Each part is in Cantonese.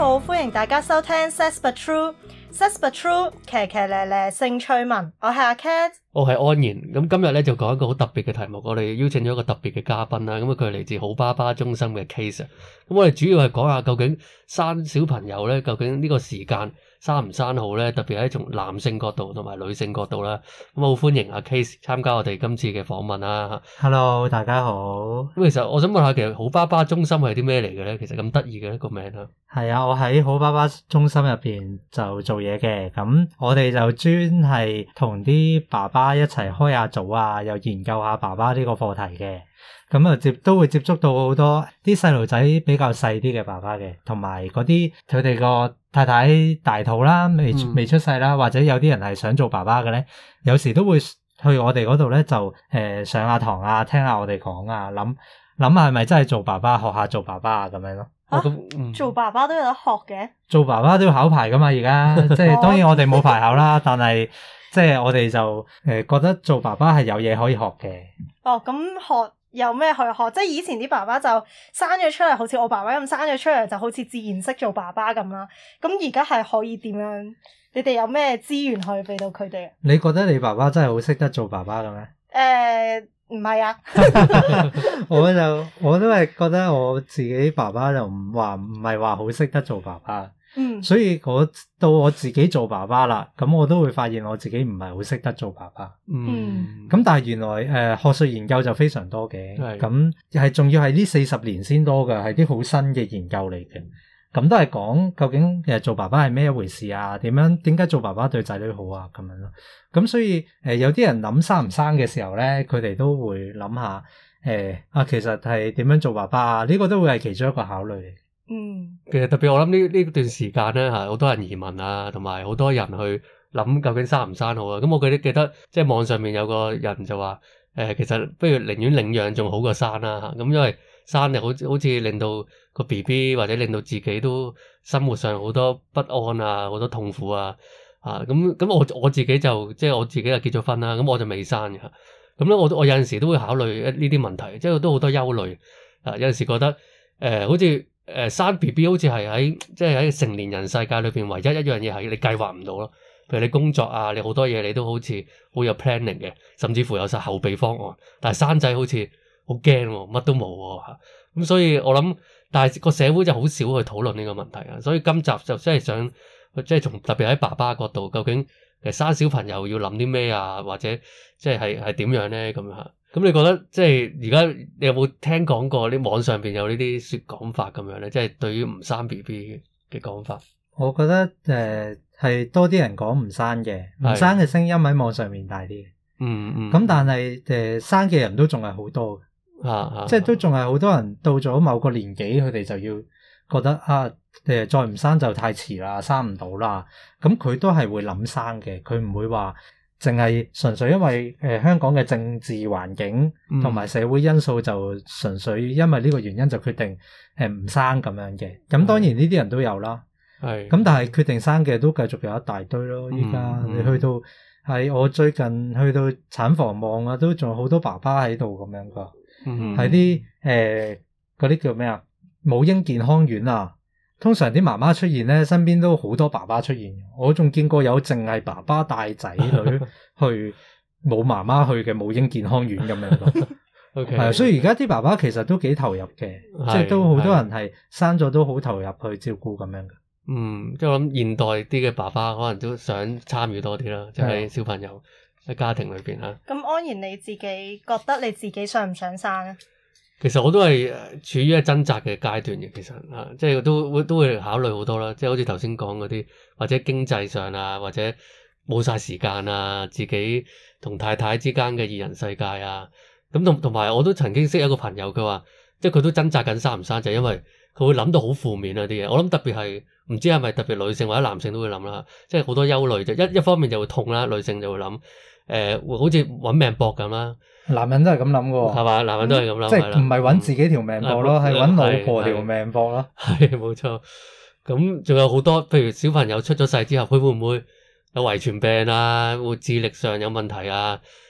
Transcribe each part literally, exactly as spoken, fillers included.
好，歡迎大家收聽 Says But True，Says But True，騎騎咧咧性趣聞，我係阿 Cat， 我係安然。咁今日咧就講一個好特別嘅題目，我哋邀請咗一個特別嘅嘉賓啦。咁佢係嚟自好爸爸中心嘅 case。咁我哋主要係講下究竟生小朋友咧，究竟呢個時間生唔生好咧？特別係從男性角度同埋女性角度啦。咁好歡迎阿 case 參加我哋今次嘅訪問啦。 Hello，大家好。 咁其實我想問下，其實好爸爸中心係啲咩嚟嘅咧？其實咁得意嘅一個名啊。 係啊，我喺好爸爸中心入邊就做嘢嘅。咁我哋就專係同啲爸爸一齊開下組啊，又研究下爸爸呢個課題嘅。咁啊接都會接觸到好多啲細路仔比較細啲嘅爸爸嘅，同埋嗰啲佢哋個太太大肚啦，未未出世啦，或者有啲人係想做爸爸嘅咧，有時都會去我哋嗰度咧就誒、呃、上下堂啊，聽下我哋講啊，諗諗下係咪真係做爸爸，學下做爸爸啊咁樣咯。 啊哦嗯、 做爸爸都有得學嘅？做爸爸都要考牌噶嘛，而家即係當然我哋冇牌考啦，但係即係我哋就誒覺得做爸爸係有嘢可以學嘅。 哦，咁學有咩可以學？即係以前啲爸爸就生咗出嚟，好似我爸爸咁生咗出嚟，就好似自然識做爸爸咁啦。咁而家係可以點樣？你哋有咩資源可以俾到佢哋？ 你覺得你爸爸真係好識得做爸爸嘅咩？ 誒，唔係啊。 我就我都係覺得我自己爸爸就唔話唔係話好識得做爸爸。 嗯， 所以我到我自己做爸爸啦，咁我都會發現我自己唔係好識得做爸爸。 嗯， 咁但係原來誒、呃、學術研究就非常多嘅，咁係仲要係呢四十年先多嘅，係啲好新嘅研究嚟嘅。咁都係講究竟誒做爸爸係咩一回事啊？點樣點解做爸爸對仔女好啊？咁樣咯。咁所以誒、呃、有啲人諗生唔生嘅時候咧，佢哋都會諗下誒啊，其實係點樣做爸爸啊？呢、這個都會係其中一個考慮嚟。 嗯， 其實特別我諗呢呢段時間咧，係好多人移民啊，同埋好多人去諗究竟生唔生好啊。咁我記得記得即係網上面有個人就話，誒、呃，其實不如寧願領養仲好過生啦、啊。咁因為生就好好似令到個 B B 或者令到自己都生活上好多不安啊，好多痛苦啊。啊，咁咁我我自己就即係我自己就結咗婚啦，咁我就未生嘅。咁咧我我有陣時都會考慮呢啲問題，即係都好多憂慮。啊，有陣時覺得誒、呃，好似。誒、呃、生 B B 好似係喺即係喺成年人世界裏邊唯一一樣嘢係你計劃唔到咯，譬如你工作啊，你好多嘢你都好似好有 planning 嘅，甚至乎有晒後備方案。但係生仔好似好驚喎，乜都冇喎嚇。咁所以我諗，但係個社會就好少去討論呢個問題啊。所以今集就真係想即係從特別喺爸爸角度，究竟誒生小朋友要諗啲咩啊，或者即係係係點樣咧咁樣嚇。咁你覺得即係而家你有冇聽講過啲網上邊有呢啲說講法咁樣咧？即係對於唔生 B B 嘅講法， 我覺得誒係、呃、多啲人講唔生嘅，唔生嘅聲音喺網上面大啲。 嗯嗯。 咁但係誒、呃、生嘅人都仲係好多嘅， 啊啊， 即係都仲係好多人到咗某個年紀，佢哋就要覺得啊誒、呃、再唔生就太遲啦，生唔到啦。咁佢都係會諗生嘅，佢唔會話。淨係純粹因為誒、呃、香港嘅政治環境同埋社會因素，就純粹因為呢個原因就決定誒唔、呃、生咁樣嘅。咁當然呢啲人都有啦。係。咁但係決定生嘅都繼續有一大堆咯。依家、嗯、你去到係我最近去到產房望啊，都仲有好多爸爸喺度咁樣噶。嗯。喺啲誒嗰啲叫咩啊？母嬰健康院啊。通常啲媽媽出現咧，身邊都好多爸爸出現。我仲見過有淨係爸爸帶仔女去冇媽媽去嘅母嬰健康院咁樣咯。 OK， 係啊，所以而家啲爸爸其實都幾投入嘅，即係都好多人係生咗都好投入去照顧咁樣嘅。 嗯，即係我諗現代啲嘅爸爸可能都想參與多啲啦，即係小朋友喺家庭裏邊啦。 咁安然你自己覺得你自己想唔想生啊？ 其實我都係處於一掙扎嘅階段嘅，其實啊，即係都會都會考慮好多啦，即係好似頭先講嗰啲，或者經濟上啊，或者冇晒時間啊，自己同太太之間嘅二人世界啊，咁同同埋我都曾經識一個朋友，佢話即係佢都掙扎緊生唔生，就係因為佢會諗到好負面啊啲嘢。我諗特別係唔知係咪特別女性或者男性都會諗啦，即係好多憂慮就一一方面就會痛啦，女性就會諗誒、呃，會好似揾命搏咁啦。 男人都係咁諗嘅， 係嘛？男人都係咁諗， 嗯、即係唔係揾自己條命搏咯，係揾、嗯、老婆條命搏咯。 係冇錯。咁仲有好多，譬如小朋友出咗世之後，佢會唔會有遺傳病啊？會智力上有問題啊？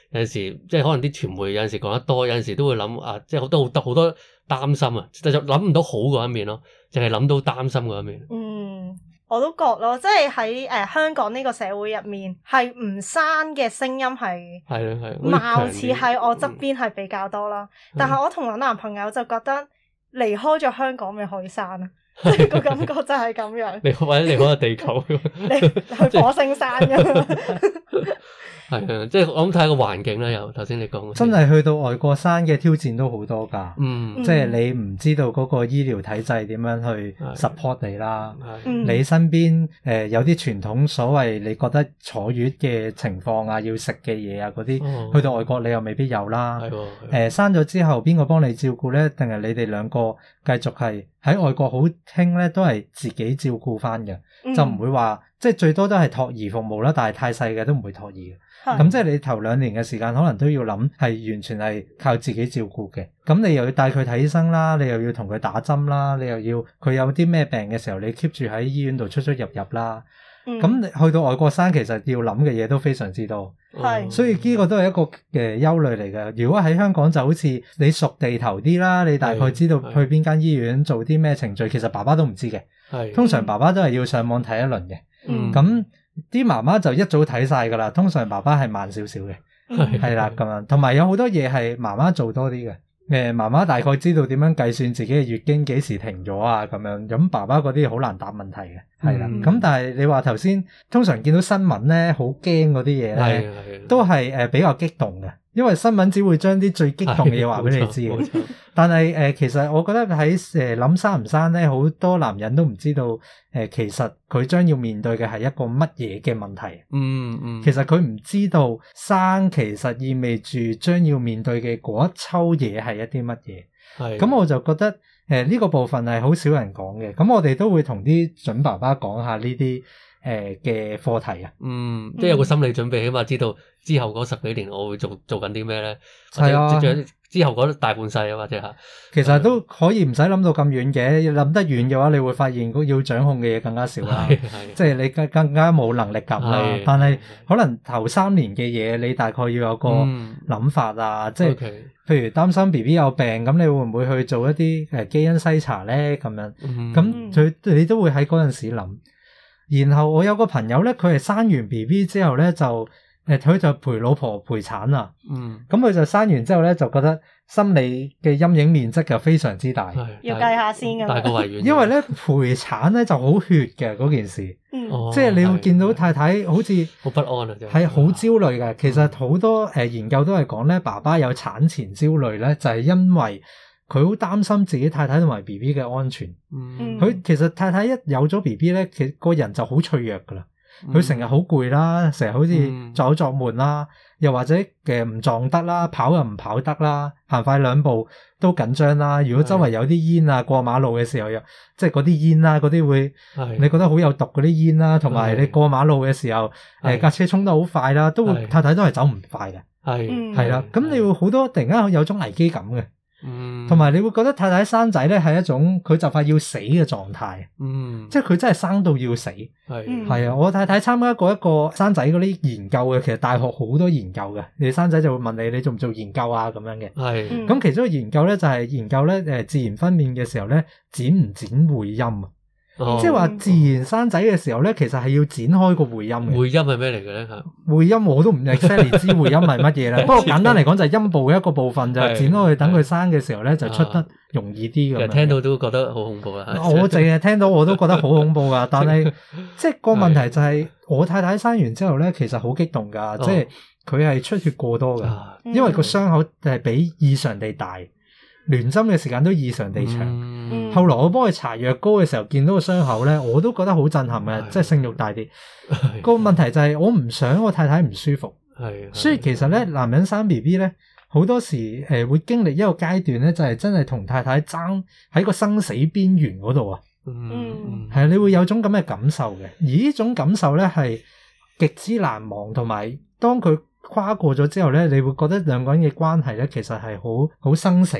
有陣時即係可能啲傳媒有陣時講得多，有陣時都會諗啊，即係好多好多好多擔心啊，就就諗唔到好嗰一面咯，淨係諗到擔心嗰一面。 嗯，我都覺咯，即係喺誒香港呢個社會入面，係唔生嘅聲音係係咯係， 貌似喺我側邊係比較多啦。嗯、但係我同我男朋友就覺得離開咗香港咪可以生啊，即係個感覺就係咁樣。 你或者離開個地球， 你去火星生㗎。 係啊，即係我諗睇下個環境啦。又頭先你講， 真係去到外國生嘅挑戰都好多㗎。 嗯， 即係你唔知道嗰個醫療體制點樣去 support 你啦。 嗯、 你身邊誒、呃、有啲傳統所謂你覺得坐月嘅情況啊，要食嘅嘢啊嗰啲，哦、去到外國你又未必有啦。係喎。誒生咗之後，邊個幫你照顧咧？定係你哋兩個繼續係喺外國好興咧，都係自己照顧翻嘅，嗯、就唔會話即係最多都係托兒服務啦。但係太細嘅都唔會托兒嘅。咁即係你頭兩年嘅時間，可能都要諗係完全係靠自己照顧嘅。咁你又要帶佢睇醫生啦，你又要同佢打針啦，你又要佢有啲咩病嘅時候，你 keep 住喺醫院度出出入入啦。咁、嗯、去到外國生，其實要諗嘅嘢都非常之多。係、嗯，所以呢個都係一個誒憂慮嚟嘅。如果喺香港就好似你熟地頭啲啦，你大概知道去邊間醫院做啲咩程序，其實爸爸都唔知嘅。係，通常爸爸都係要上網睇一輪嘅。嗯，咁。啲媽媽就一早睇晒噶啦，通常爸爸係慢少少嘅，係啦咁樣，同埋有好多嘢係媽媽做多啲嘅。誒，媽媽大概知道點樣計算自己嘅月經幾時停咗啊，咁樣，咁爸爸嗰啲好難答問題嘅，係啦。咁、嗯、但係你話頭先，通常見到新聞咧，好驚嗰啲嘢咧，都係誒比較激動嘅。因為新聞只會將啲最激動嘅嘢話俾你知嘅，但係誒、呃，其實我覺得喺誒諗生唔生咧，好多男人都唔知道誒、呃，其實佢將要面對嘅係一個乜嘢嘅問題。嗯嗯，其實佢唔知道生其實意味住將要面對嘅嗰一抽嘢係一啲乜嘢。係，咁我就覺得誒呢、呃這個部分係好少人講嘅。咁我哋都會同啲準爸爸講下呢啲誒嘅課題啊。嗯， 即係有個心理準備，起碼知道。之後嗰十幾年我會做做緊啲咩咧？ 係啊， 之後嗰大半世啊，或者吓， 其實都可以唔使諗到咁遠嘅。諗得遠嘅話，你會發現要掌控嘅嘢更加少啦。即係你更更加冇能力感啦。但係可能頭三年嘅嘢，你大概要有個諗法啊。嗯、即係 okay. 譬如擔心 B B 有病，咁你會唔會去做一啲誒基因篩查咧？咁樣，咁佢、嗯、你都會喺嗰陣時諗。然後我有個朋友咧，佢係生完 B B 之後咧就。誒，佢就陪老婆陪產啊，嗯，咁佢就生完之後咧，就覺得心理嘅陰影面積就非常之大， 要計下先㗎， 大個維園， 因為咧陪產咧就好血嘅嗰件事，嗯，即係你會見到太太好似好不安啊， 係好焦慮嘅。其實好多誒研究都係講咧，爸爸有產前焦慮咧，就係因為佢好擔心自己太太同埋 B B 嘅安全，嗯，佢其實太太一有咗 B B 咧，其實個人就好脆弱㗎啦。佢成日好攰啦，成日好似作嘔作悶啦，嗯、又或者嘅唔撞得啦，跑又唔跑得啦，行快兩步都緊張啦。如果周圍有啲煙啊，過馬路嘅時候又即係嗰啲煙啦，嗰啲會你覺得好有毒嗰啲煙啦，同埋你過馬路嘅時候，誒架車衝得好快啦，都會太太都係走唔快嘅，係係啦。咁你會好多突然間有種危機感嘅。嗯，同埋你會覺得太太生仔咧係一種佢就快要死嘅狀態，嗯，即係佢真係生到要死，係係啊！我太太參加過一個生仔嗰啲研究嘅，其實大學好多研究嘅，你生仔就會問你你做唔做研究啊咁樣嘅，係咁、嗯、其中一個研究咧就係研究咧誒自然分娩嘅時候咧剪唔剪會陰啊？哦、即係話自然生仔嘅時候咧，其實係要剪開個會陰嘅。會陰係咩嚟嘅咧？嚇，會陰我都唔 exactly 知會陰係乜嘢啦。不過簡單嚟講就係陰部嘅一個部分就剪開佢，等佢生嘅時候咧就出得容易啲咁。其實聽到都覺得好恐怖啦。我淨係聽到我都覺得好恐怖噶，但係即係個問題就係、是、我太太生完之後咧，其實好激動噶，即係佢係出血過多噶，因為個傷口係比異常地大。聯針嘅時間都異常地長，嗯、後來我幫佢搽藥膏嘅時候，見到個傷口咧，我都覺得好震撼嘅，即係性慾大啲。個問題就係我唔想我太太唔舒服，所以其實咧，男人生 B B 咧，好多時誒、呃、會經歷一個階段咧，就係、是、真係同太太爭喺個生死邊緣嗰度啊。嗯，係啊，你會有種咁嘅感受嘅，而呢種感受咧係極之難忘，同埋當佢跨過咗之後咧，你會覺得兩個人嘅關係咧，其實係好好生死嘅。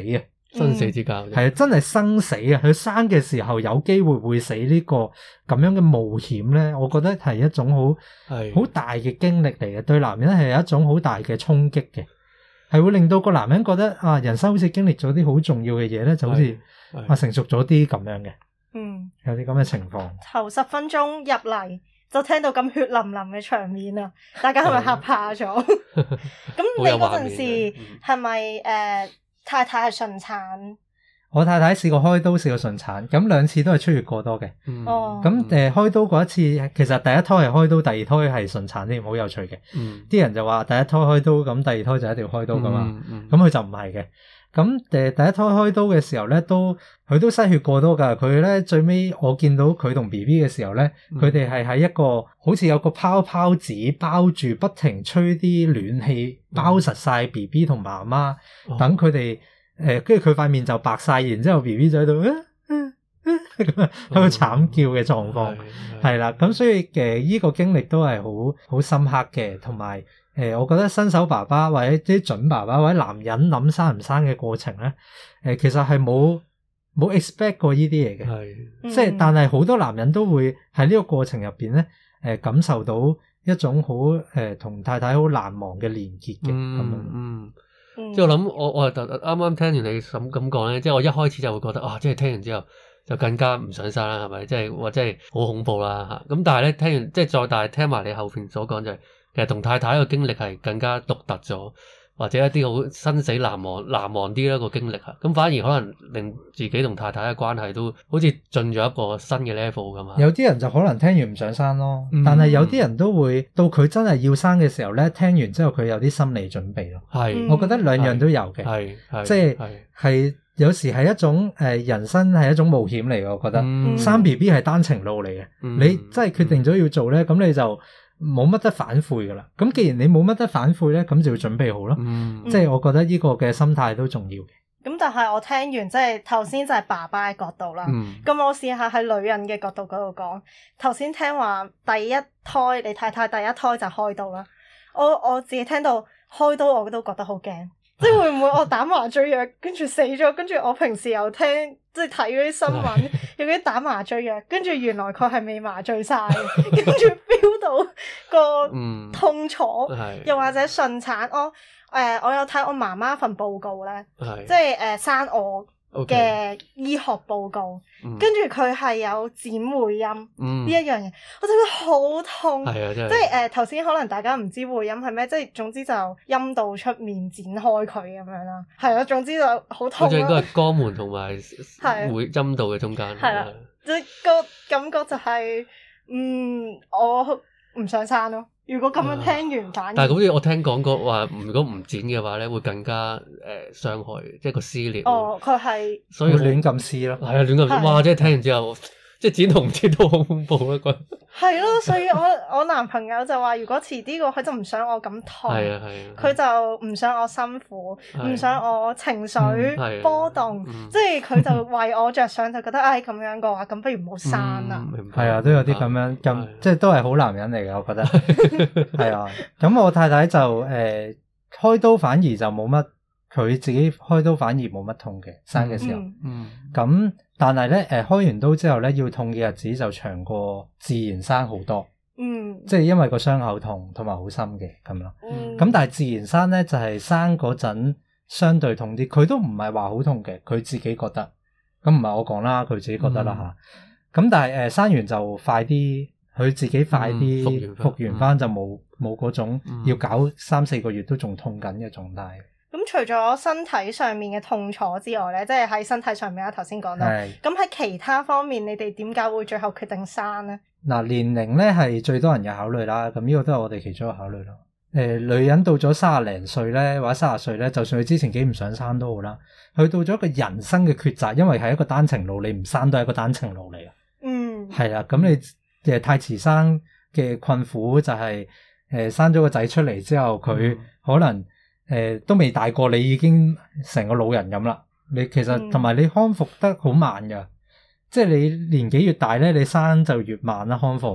生死之交。 係啊，真係生死啊！佢生嘅時候有機會會死呢個咁樣嘅冒險咧，我覺得係一種好係好大嘅經歷嚟嘅，對男人係一種好大嘅衝擊嘅，係會令到個男人覺得啊，人生好似經歷咗啲好重要嘅嘢咧，就好似啊成熟咗啲咁樣嘅。 嗯， 有啲咁嘅情況。 頭十分鐘入嚟就聽到咁血淋淋嘅場面啊！大家係咪嚇怕咗？咁你嗰陣時係咪誒太太係順產？ 我太太試過開刀，試過順產，咁兩次都係出血過多嘅。 哦、嗯， 咁誒、呃、開刀嗰一次，其實第一胎係開刀，第二胎係順產添，好有趣嘅。 嗯，啲人就話第一胎開刀，咁第二胎就一定要開刀噶嘛。咁佢、 嗯嗯、就唔係嘅。咁誒第一胎開刀嘅時候咧，都佢都失血過多噶。佢咧最尾我見到佢同 B B 嘅時候咧，佢哋係喺一個好似有個泡泡紙包住，不停吹啲暖氣，包實晒 B B 同媽媽，等佢哋誒，跟住佢塊面就白晒，然之後 B B 就喺度喺度慘叫嘅狀況，係啦。咁所以誒呢個經歷都係好好深刻嘅，同埋。誒、呃，我覺得新手爸爸或者啲準爸爸或者男人諗生唔生嘅過程咧，誒、呃，其實係冇冇 expect 過呢啲嘢嘅，係，即係但係好多男人都會喺呢個過程入邊咧，誒、呃，感受到一種好誒同太太好難忘嘅連結嘅，咁樣， 嗯，嗯即係我諗我我係啱啱聽完你咁咁講咧，即係我一開始就會覺得啊，即係聽完之後就更加唔想生啦，係咪？即係或者係好恐怖啦吓，咁但係咧聽完即係再大聽埋你後邊所講就係、是。其實同太太個經歷係更加獨特咗，或者一啲好生死難忘難忘啲一個經歷啊，咁反而可能令自己同太太嘅關係都好似進咗一個新嘅 level 咁啊。 有啲人就可能聽完唔想生咯，嗯、但係有啲人都會到佢真係要生嘅時候咧，聽完之後佢有啲心理準備咯。係是，我覺得兩樣都有嘅，係係，即係係有時係一種誒、呃、人生係一種冒險嚟嘅，我覺得、嗯、生 B B 係單程路嚟嘅，嗯、你真係決定咗要做咧，咁、嗯、你就。冇乜得反悔噶啦，咁既然你冇乜得反悔咧，咁就要準備好咯。嗯，即係我覺得呢個嘅心態都重要嘅。 咁、嗯、但係我聽完即係頭先就係爸爸嘅角度啦。嗯，咁我試下喺女人嘅角度嗰度講。頭先聽話第一胎你太太第一胎就開刀啦，我我自己聽到開刀我都覺得好驚。即係會唔會我打麻醉藥跟住死咗？跟住我平時又聽即係睇嗰啲新聞，有啲打麻醉藥，跟住原來佢係未麻醉晒，跟住 feel 到個痛楚，嗯、又或者順產。我誒、呃、我有睇我媽媽份報告咧，是即係誒、呃、生我嘅醫學報告，跟住佢係有剪會陰呢一樣嘢，我就覺得好痛。係啊，真係即係誒頭先可能大家唔知會陰係咩，即係總之就陰道出面剪開佢咁樣啦。係啊，總之就好痛。好似應該係肛門同埋會陰道嘅中間。係啦，即係個感覺就係、是，嗯，我唔想生咯。如果咁樣聽完反而， 但係好似我聽講過話，如果唔剪嘅話咧，會更加誒傷害，即係個撕裂。 哦，佢係所以亂咁撕咯。係啊，亂咁撕，哇！即係聽完之後。即係剪同唔剪都好恐怖啊！覺得係咯，所以我我男朋友就話，如果遲啲個佢就唔想我咁痛，係啊係啊，佢就唔想我辛苦，唔想我情緒波動，即係佢就為我着想，就覺得唉咁樣嘅話，咁不如唔好生啦。 係啊，都有啲咁樣咁，即係都係好男人嚟嘅，我覺得係啊。咁我太太就誒開刀反而就冇乜，佢自己開刀反而冇乜痛嘅，生嘅時候，嗯咁。但係咧，誒開完刀之後咧，要痛嘅日子就長過自然生好多。嗯，即係因為個傷口痛同埋好深嘅咁樣。嗯，咁但係自然生咧就係、是、生嗰陣相對痛啲，佢都唔係話好痛嘅，佢自己覺得。咁唔係我講啦，佢自己覺得啦吓。咁、嗯、但係誒、呃、生完就快啲，佢自己快啲復原復原翻就冇冇嗰種要搞三四個月都仲痛緊嘅狀態。 咁除咗身體上面嘅痛楚之外咧，即係喺身體上面啦，頭先講到。咁喺其他方面，你哋點解會最後決定生咧？ 嗱，年齡咧係最多人嘅考慮啦，咁呢個都係我哋其中一個考慮咯。誒、呃，女人到咗三十零歲咧，或者三十歲咧，就算佢之前幾唔想生都好啦，去到咗一個人生嘅抉擇，因為係一個單程路，你唔生都係一個單程路嚟嘅。嗯，係啦，咁你誒太遲生嘅困苦就係、是、誒、呃、生咗個仔出嚟之後，佢可能。誒、呃，都未大過，你已經成個老人咁啦。你其實同埋、嗯、你康復得好慢噶，即係你年紀越大咧，你生就越慢啦康復。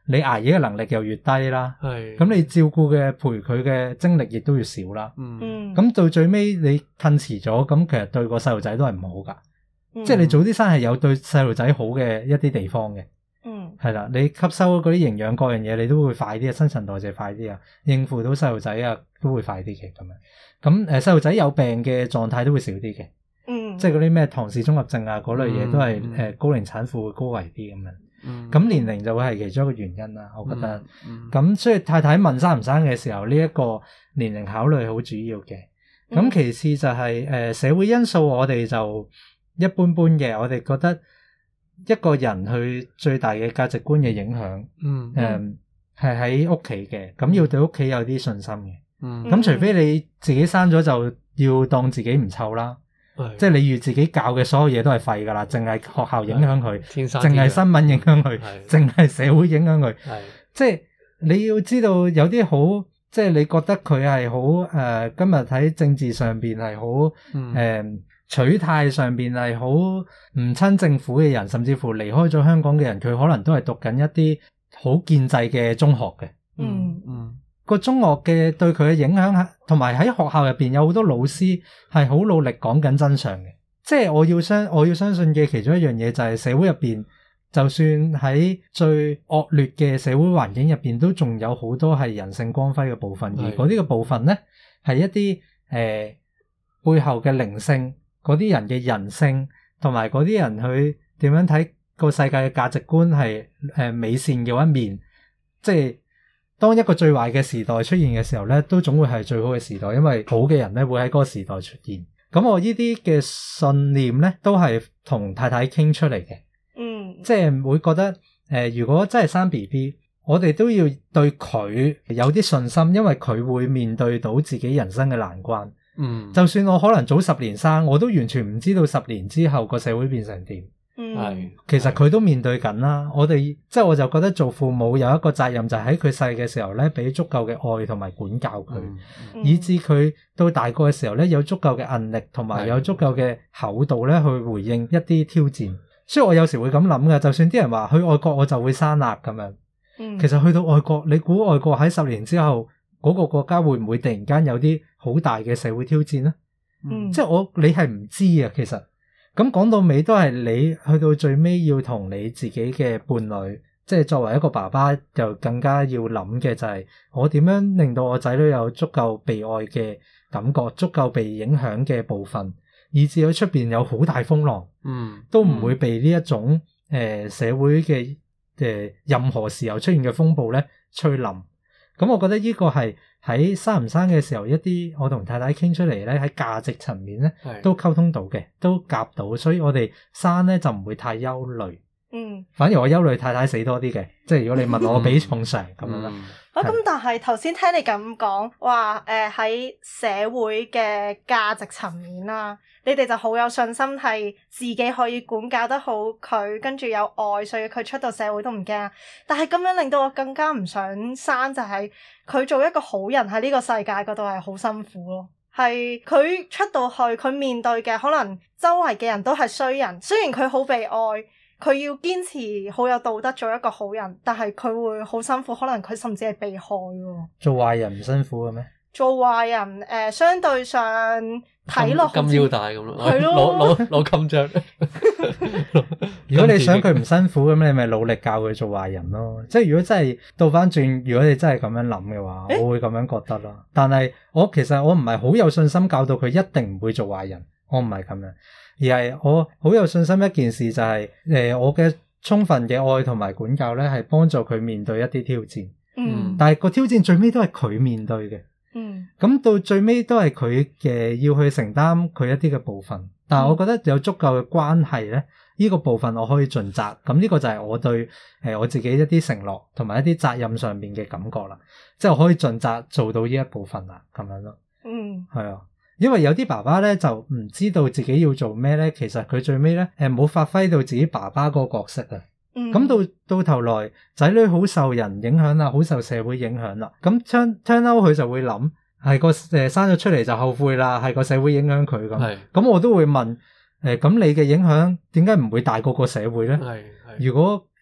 你捱夜嘅能力又越低啦， 係咁你照顧嘅陪佢嘅精力亦都要少啦。 嗯嗯， 咁到最尾你褪遲咗，咁其實對個細路仔都係唔好噶。 嗯即係你早啲生係有對細路仔好嘅一啲地方嘅。 嗯係啦，你吸收嗰啲營養各樣嘢，你都會快啲啊，新陳代謝快啲啊，應付到細路仔啊都會快啲嘅咁樣。咁誒細路仔有病嘅狀態都會少啲嘅， 嗯， 即係嗰啲咩唐氏綜合症啊嗰類嘢都係誒、 嗯呃、高齡產婦會高危啲咁樣。 嗯咁年齡就會係其中一個原因啦，我覺得。咁、 嗯嗯所以太太問生唔生嘅時候，呢、一個年齡考慮好主要嘅。咁、 嗯其次就係、呃、社會因素，我哋就一般般嘅。我哋覺得一個人佢最大嘅價值觀嘅影響， 嗯誒係喺屋企嘅。咁要對屋企有啲信心嘅。 嗯咁、除非你自己生咗就要當自己唔湊啦， 係即係你預自己教嘅所有嘢都係廢㗎啦，淨係學校影響佢， 天生淨係新聞影響佢， 係淨係社會影響佢。 係即係你要知道有啲好，即係你覺得佢係好誒，今日喺政治上邊係好誒、 嗯呃、取態上邊係好唔親政府嘅人，甚至乎離開咗香港嘅人，佢可能都係讀緊一啲好建制嘅中學嘅。 嗯嗯個中學嘅對佢嘅影響，同埋喺學校入邊有好多老師係好努力講緊真相嘅。即係我要相我要相信嘅其中一樣嘢就係社會入邊，就算喺最惡劣嘅社會環境入邊，都仲有好多係人性光輝嘅部分。 係而嗰啲嘅部分呢，係一啲誒、呃、背後嘅靈性，嗰啲人嘅人性，同埋嗰啲人去點樣睇個世界嘅價值觀係誒、呃、美善嘅一面。即係當一個最壞嘅時代出現嘅時候呢，都總會係最好嘅時代，因為好嘅人呢會喺嗰個時代出現。咁我呢啲嘅信念呢，都係同太太傾出嚟嘅。 嗯， 即係會覺得誒、呃，如果真係生 B B，我哋都要對佢有啲信心，因為佢會面對到自己人生嘅難關。 嗯， 就算我可能早十年生，我都完全唔知道十年之後個社會變成點。 嗯， 係其實佢都面對緊啦。我哋即係我就覺得做父母有一個責任，就係喺佢細嘅時候咧，俾足夠嘅愛同埋管教佢， 嗯嗯以至佢到大個嘅時候咧，有足夠嘅韌力同埋有足夠嘅厚度咧，去回應一啲挑戰。所以我有時會咁諗嘅，就算啲人話去外國我就會生啦咁樣， 嗯其實去到外國，你估外國喺十年之後嗰個國家會唔會突然間有啲好大嘅社會挑戰呢？ 嗯即係我你係唔知啊，其實咁講到尾都係你去到最尾要同你自己嘅伴侶，即係作為一個爸爸，就更加要諗嘅就係我點樣令到我仔女有足夠被愛嘅感覺，足夠被影響嘅部分，以至佢出邊有好大風浪， 嗯都唔會被呢一種誒、呃、社會嘅誒、呃、任何時候出現嘅風暴咧吹冧。咁我覺得呢個係喺生唔生嘅時候，一啲我同太太傾出嚟咧，喺價值層面咧係都溝通到嘅，都夾到，所以我哋生咧就唔會太憂慮。 嗯， 反而我憂慮太太死多啲嘅，即係如果你問我比重上咁樣啦。 嗯啊咁，但係頭先聽你咁講，話誒喺社會嘅價值層面啦，你哋就好有信心係自己可以管教得好佢，跟住有愛，所以佢出到社會都唔驚。但係咁樣令到我更加唔想生，就係佢做一個好人喺呢個世界嗰度係好辛苦咯。係佢出到去，佢面對嘅可能周圍嘅人都係衰人，雖然佢好被愛。佢要堅持好有道德做一個好人，但係佢會好辛苦，可能佢甚至係被害喎。 做壞人唔辛苦嘅咩？ 做壞人誒、呃，相對上睇落金腰帶咁咯， 係咯攞攞攞金章。 如果你想佢唔辛苦咁，你咪努力教佢做壞人咯。即係如果真係倒翻轉，如果你真係咁樣諗嘅話， 誒我會咁樣覺得咯。但係我其實我唔係好有信心教到佢一定唔會做壞人，我唔係咁樣。而係我好有信心一件事就係、是、誒、呃、我嘅充分嘅愛同埋管教咧，係幫助佢面對一啲挑戰。 嗯但係個挑戰最尾都係佢面對嘅。 嗯咁到最尾都係佢嘅要去承擔佢一啲嘅部分。但係我覺得有足夠嘅關係咧，呢、呢個部分我可以盡責。咁呢個就係我對誒、呃、我自己一啲承諾同埋一啲責任上面嘅感覺啦。即係我可以盡責做到呢一部分啦，咁樣咯。 嗯係啊。因為有啲爸爸咧就唔知道自己要做咩咧，其實佢最尾咧誒冇發揮到自己爸爸嗰個角色啊。 嗯， 咁到到頭來仔女好受人影響啦，好受社會影響啦。咁 turn turn out 佢就會諗係個誒生咗出嚟就後悔啦，係個社會影響佢咁。 係咁我都會問誒，咁、呃、你嘅影響點解唔會大過個社會咧？ 係係如果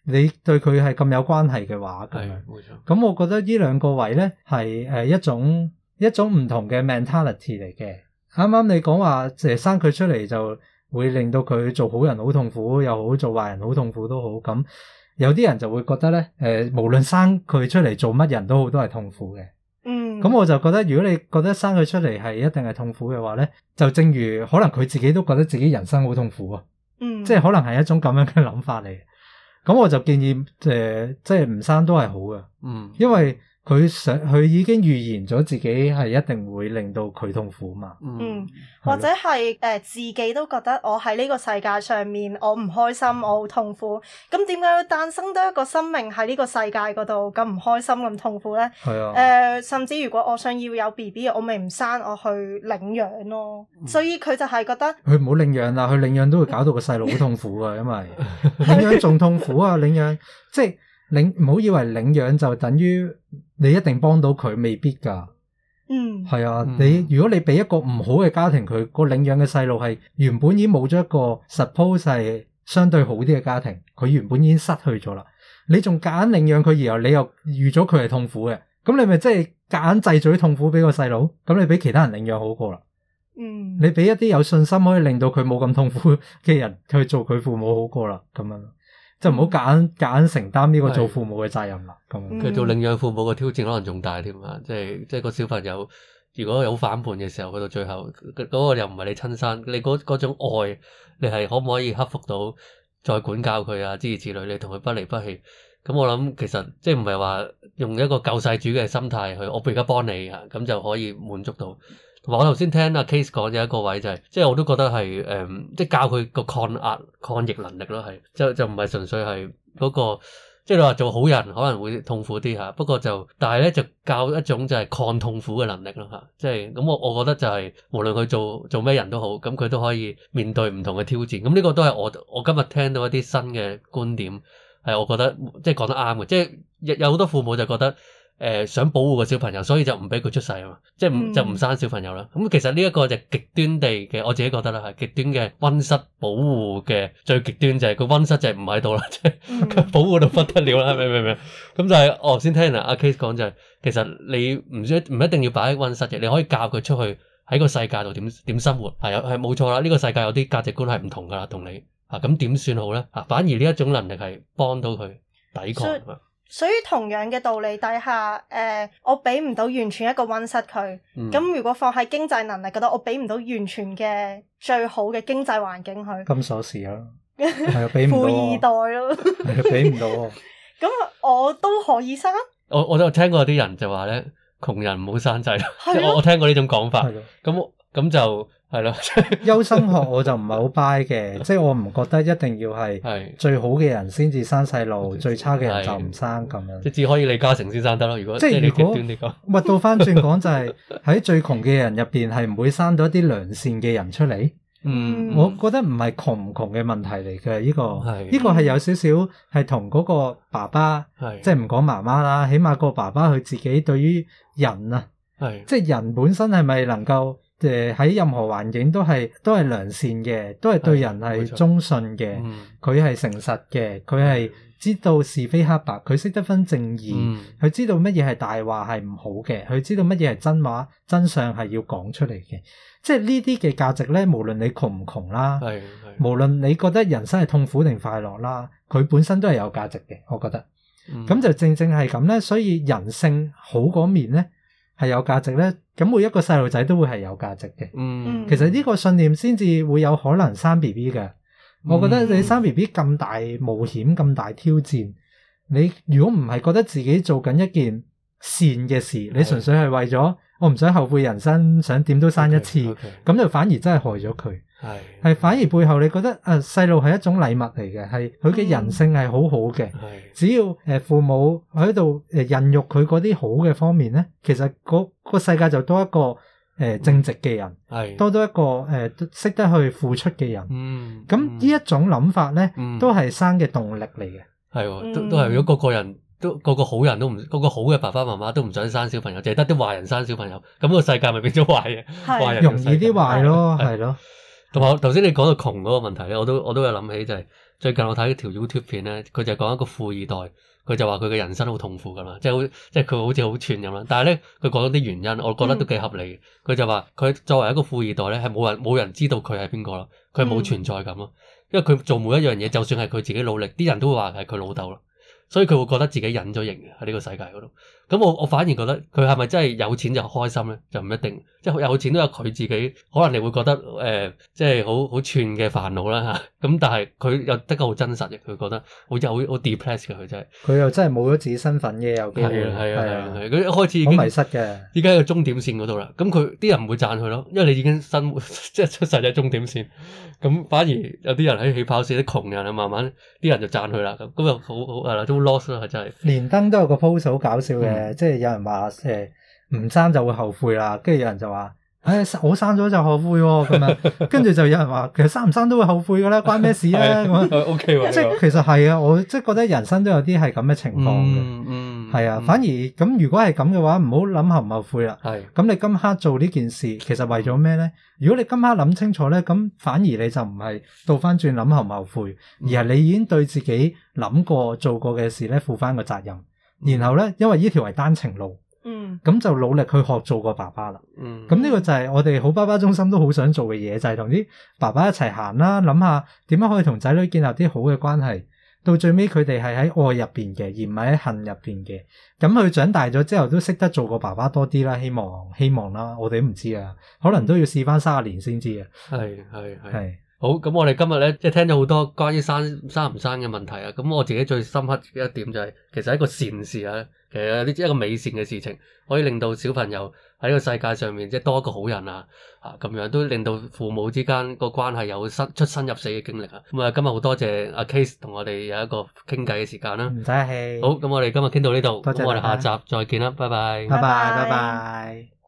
你對佢係咁有關係嘅話，咁係樣。 冇錯。 咁我覺得呢兩個位咧係誒一種一種唔同嘅 mentality 嚟嘅。啱啱你講話誒生佢出嚟就會令到佢做好人好痛苦，又好做壞人好痛苦都好。咁有啲人就會覺得咧誒、呃，無論生佢出嚟做乜人都好，都係痛苦嘅。 嗯， 咁我就覺得，如果你覺得生佢出嚟係一定係痛苦嘅話咧，就正如可能佢自己都覺得自己人生好痛苦啊。 嗯， 即係可能係一種咁樣嘅諗法嚟。咁我就建議誒、呃，即係唔生都係好嘅， 嗯， 因為佢想佢已經預言咗自己係一定會令到佢痛苦嘛。 嗯，或者係誒、呃、自己都覺得我喺呢個世界上面我唔開心，我好痛苦。咁點解要誕生多一個生命喺呢個世界嗰度咁唔開心咁痛苦咧？ 係啊。誒、 呃，甚至如果我想要有 B B， 我咪唔生，我去領養咯。嗯、所以佢就係覺得佢唔好領養啦，佢領養都會搞到個細路好痛苦啊，因為領養仲痛苦啊，領養即係領唔好以為領養就等於你一定幫到佢，未必㗎。 嗯， 係啊，你如果你俾一個唔好嘅家庭，佢個領養嘅細路係原本已經冇咗一個 suppose 係相對好啲嘅家庭，佢原本已經失去咗啦。你仲夾硬領養佢，然後你又預咗佢係痛苦嘅，咁你咪即係夾硬製造啲痛苦俾個細路？咁你俾其他人領養好過啦。 嗯， 你俾一啲有信心可以令到佢冇咁痛苦嘅人去做佢父母好過啦，咁樣就唔好夾硬夾硬承擔呢個做父母嘅責任啦。咁佢是、嗯、做領養父母嘅挑戰可能仲大添啊！即係即係個小朋友如果有反叛嘅時候，去到最後嗰、嗰個又唔係你親生，你嗰嗰種愛，你係可唔可以克服到再管教佢啊？諸如此類，你同佢不離不棄。咁我諗其實即係唔係話用一個救世主嘅心態去，我而家幫你啊，咁就可以滿足到。同埋我頭先聽阿 Case 講有一個位就係、是，即係我都覺得係誒、嗯，即係教佢個抗壓抗逆能力咯，係就就唔係純粹係嗰、那個，即係你話做好人可能會痛苦啲嚇，不過就但係咧就教一種就係抗痛苦嘅能力咯嚇，即係咁我我覺得就係、是、無論佢做做咩人都好，咁佢都可以面對唔同嘅挑戰。咁呢個都係我我今日聽到一啲新嘅觀點，係我覺得即係講得啱嘅，即係有好多父母就覺得。誒、呃、想保護個小朋友，所以就唔俾佢出世啊嘛，即係唔、嗯、就唔生小朋友啦。咁、嗯、其實呢一個就極端地嘅，我自己覺得啦，係極端嘅溫室保護嘅最極端就係個溫室就係唔喺度啦，即係佢保護到不得了啦，明唔明？咁就係我頭先聽阿阿 Case 講就係、是，其實你唔需唔一定要擺喺溫室嘅，你可以教佢出去喺個世界度點點生活，係啊係冇錯啦。呢、這個世界有啲價值觀係唔同噶啦，同你啊咁點算好咧？啊反而呢一種能力係幫到佢抵抗。 所以同樣嘅道理底下，誒、呃，我俾唔到完全一個溫室佢，咁、嗯、如果放喺經濟能力嗰度，我俾唔到完全嘅最好嘅經濟環境佢。 金鎖匙咯，係啊，俾唔到。富二代咯， 係啊，俾唔到。 咁我都可以生。 我我都有聽過啲人就話咧，窮人唔好生仔，即係我我聽過呢種講法。咁咁就。係咯， 優生學我就唔係好 buy 嘅，即係我唔覺得一定要係最好嘅人先至生細路，最差嘅人就唔生咁樣。 即係只可以李嘉誠先生得咯。如果即係你極端啲講， 咪倒翻轉講就係喺最窮嘅人入邊係唔會生到一啲良善嘅人出嚟。嗯，我覺得唔係窮唔窮嘅問題嚟嘅，呢個呢個係有少少係同嗰個爸爸，即係唔講媽媽啦，起碼個爸爸佢自己對於人啊，即係人本身係咪能夠？誒喺任何環境都係都係良善嘅，都係對人係忠信嘅，佢係誠實嘅，佢係知道是非黑白，佢識得分正義，佢、嗯、知道乜嘢係大話係唔好嘅，佢知道乜嘢係真話真相係要講出嚟嘅。即係呢啲嘅價值咧，無論你窮唔窮啦，無論你覺得人生係痛苦定快樂啦，佢本身都係有價值嘅，我覺得。咁、嗯、就正正係咁咧，所以人性好嗰面咧係有價值咧。咁每一個細路仔都會係有價值嘅。嗯，其實呢個信念先至會有可能生 B B 嘅。嗯、我覺得你生 B B 咁大冒險、咁大挑戰，你如果唔係覺得自己做緊一件善嘅事，的你純粹係為咗我唔想後悔人生，想點都生一次，咁 okay, okay. 就反而真係害咗佢。係係的反而背後你覺得啊，細路係一種禮物嚟嘅，係佢嘅人性係好好嘅。係、嗯、只要誒父母喺度誒孕育佢嗰啲好嘅方面咧，其實嗰個世界就多一個誒、呃、正直嘅人，係、嗯、多多一個誒識、呃、得去付出嘅人。嗯，咁呢一種諗法咧，嗯、都係生嘅動力嚟嘅。係， 都都係如果個個人都個個好人都唔，個個好嘅爸爸媽媽都唔想生小朋友，淨係得啲壞人生小朋友，咁個世界咪變咗壞嘅，壞人容易啲壞咯，係咯。 同埋頭先你講到窮嗰個問題咧，我都我都有諗起就係、是、最近我睇一條 YouTube 片咧，佢就講一個富二代，佢就話佢嘅人生好痛苦噶嘛，即係好即係佢好似好串咁啦。但係咧佢講咗啲原因，我覺得都幾合理嘅。佢、嗯、就話佢作為一個富二代咧，係冇人冇人知道佢係邊個咯，佢係冇存在感咯，因為佢做每一樣嘢，就算係佢自己努力，啲人都會話係佢老豆咯。所以佢會覺得自己隱咗形嘅喺呢個世界嗰度。咁我我反而覺得佢係咪真係有錢就開心咧？就唔一定。即係有錢都有佢自己，可能你會覺得誒、呃，即係好好串嘅煩惱啦嚇。咁但係佢又得個好真實嘅，佢覺得好似好好 depressed 嘅佢真係。 佢又真係冇咗自己身份嘅，有機會。 係啊係啊係啊！佢一開始已經好迷失嘅。 依家喺個終點線嗰度啦。咁佢啲人唔會讚佢咯，因為你已經生活即係出世喺終點線。咁反而有啲人喺起跑線，啲窮人啊，慢慢啲人就讚佢啦。咁咁又好好係啦，都 lost 啦，真係。 連登都有個 post 好搞笑嘅， 嗯、 即係有人話誒唔生就會後悔啦，跟住有人就話，唉、哎，我生咗就後悔喎咁樣，跟住就有人話，其實生唔生都會後悔噶啦，關咩事啊咁啊 ？O K 喎， 即係其實係啊，我即係覺得人生都有啲係咁嘅情況嘅、 嗯，嗯， 係啊， 嗯、 反而咁如果係咁嘅話，唔好諗後唔後悔啦。係，咁你今刻做呢件事，其實為咗咩咧？如果你今刻諗清楚咧，咁反而你就唔係倒翻轉諗後唔後悔，而係你已經對自己諗過做過嘅事咧負翻個責任。然後咧，因為呢條係單程路，嗯，咁就努力去學做個爸爸啦，嗯，咁呢個就係我哋好爸爸中心都好想做嘅嘢，就係同啲爸爸一齊行啦，諗下點樣可以同仔女建立啲好嘅關係，到最尾佢哋係喺愛入邊嘅，而唔係喺恨入邊嘅。咁佢長大咗之後都識得做個爸爸多啲啦，希望希望啦，我哋都唔知啊，可能都要試翻三十年先知啊。係係係。 好，咁我哋今日咧，即係聽咗好多關於生生唔生嘅問題啊。咁我自己最深刻嘅一點就係、是，其實一個善事啊，其實呢一個美善嘅事情，可以令到小朋友喺呢個世界上面即係多一個好人啊，啊咁樣都令到父母之間個關係有生出生入死嘅經歷啊。咁啊，今日好多謝阿 Case 同我哋有一個傾偈嘅時間啦。唔使客氣。好，咁我哋今日傾到呢度，咁我哋下集再見啦，拜拜。 拜拜，拜拜。